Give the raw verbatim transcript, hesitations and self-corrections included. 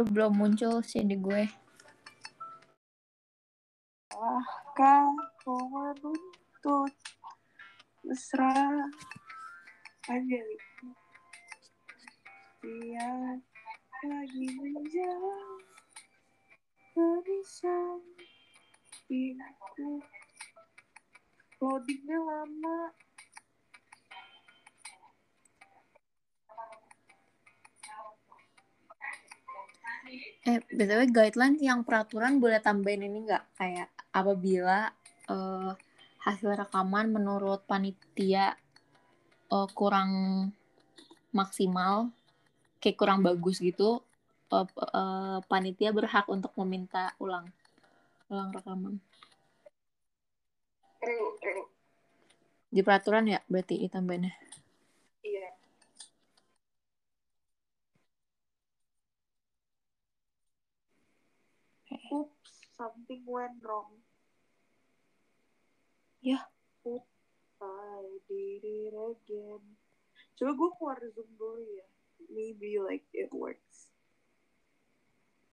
lu belum muncul sih di gue. Ah, kau menuntut mesra Anjali. Dia lagi menjauh berisan pintu. Loadingnya lama. Eh, B T W guideline yang peraturan boleh tambahin ini nggak? Kayak apabila uh, hasil rekaman menurut panitia uh, kurang maksimal, kayak kurang bagus gitu, uh, uh, panitia berhak untuk meminta ulang, ulang rekaman. Perlu, perlu. Di peraturan ya berarti ditambahinnya. Iya. Oops, something went wrong. Ya. Oops, I did it again. Coba gue keluar Zoom dulu ya. Maybe like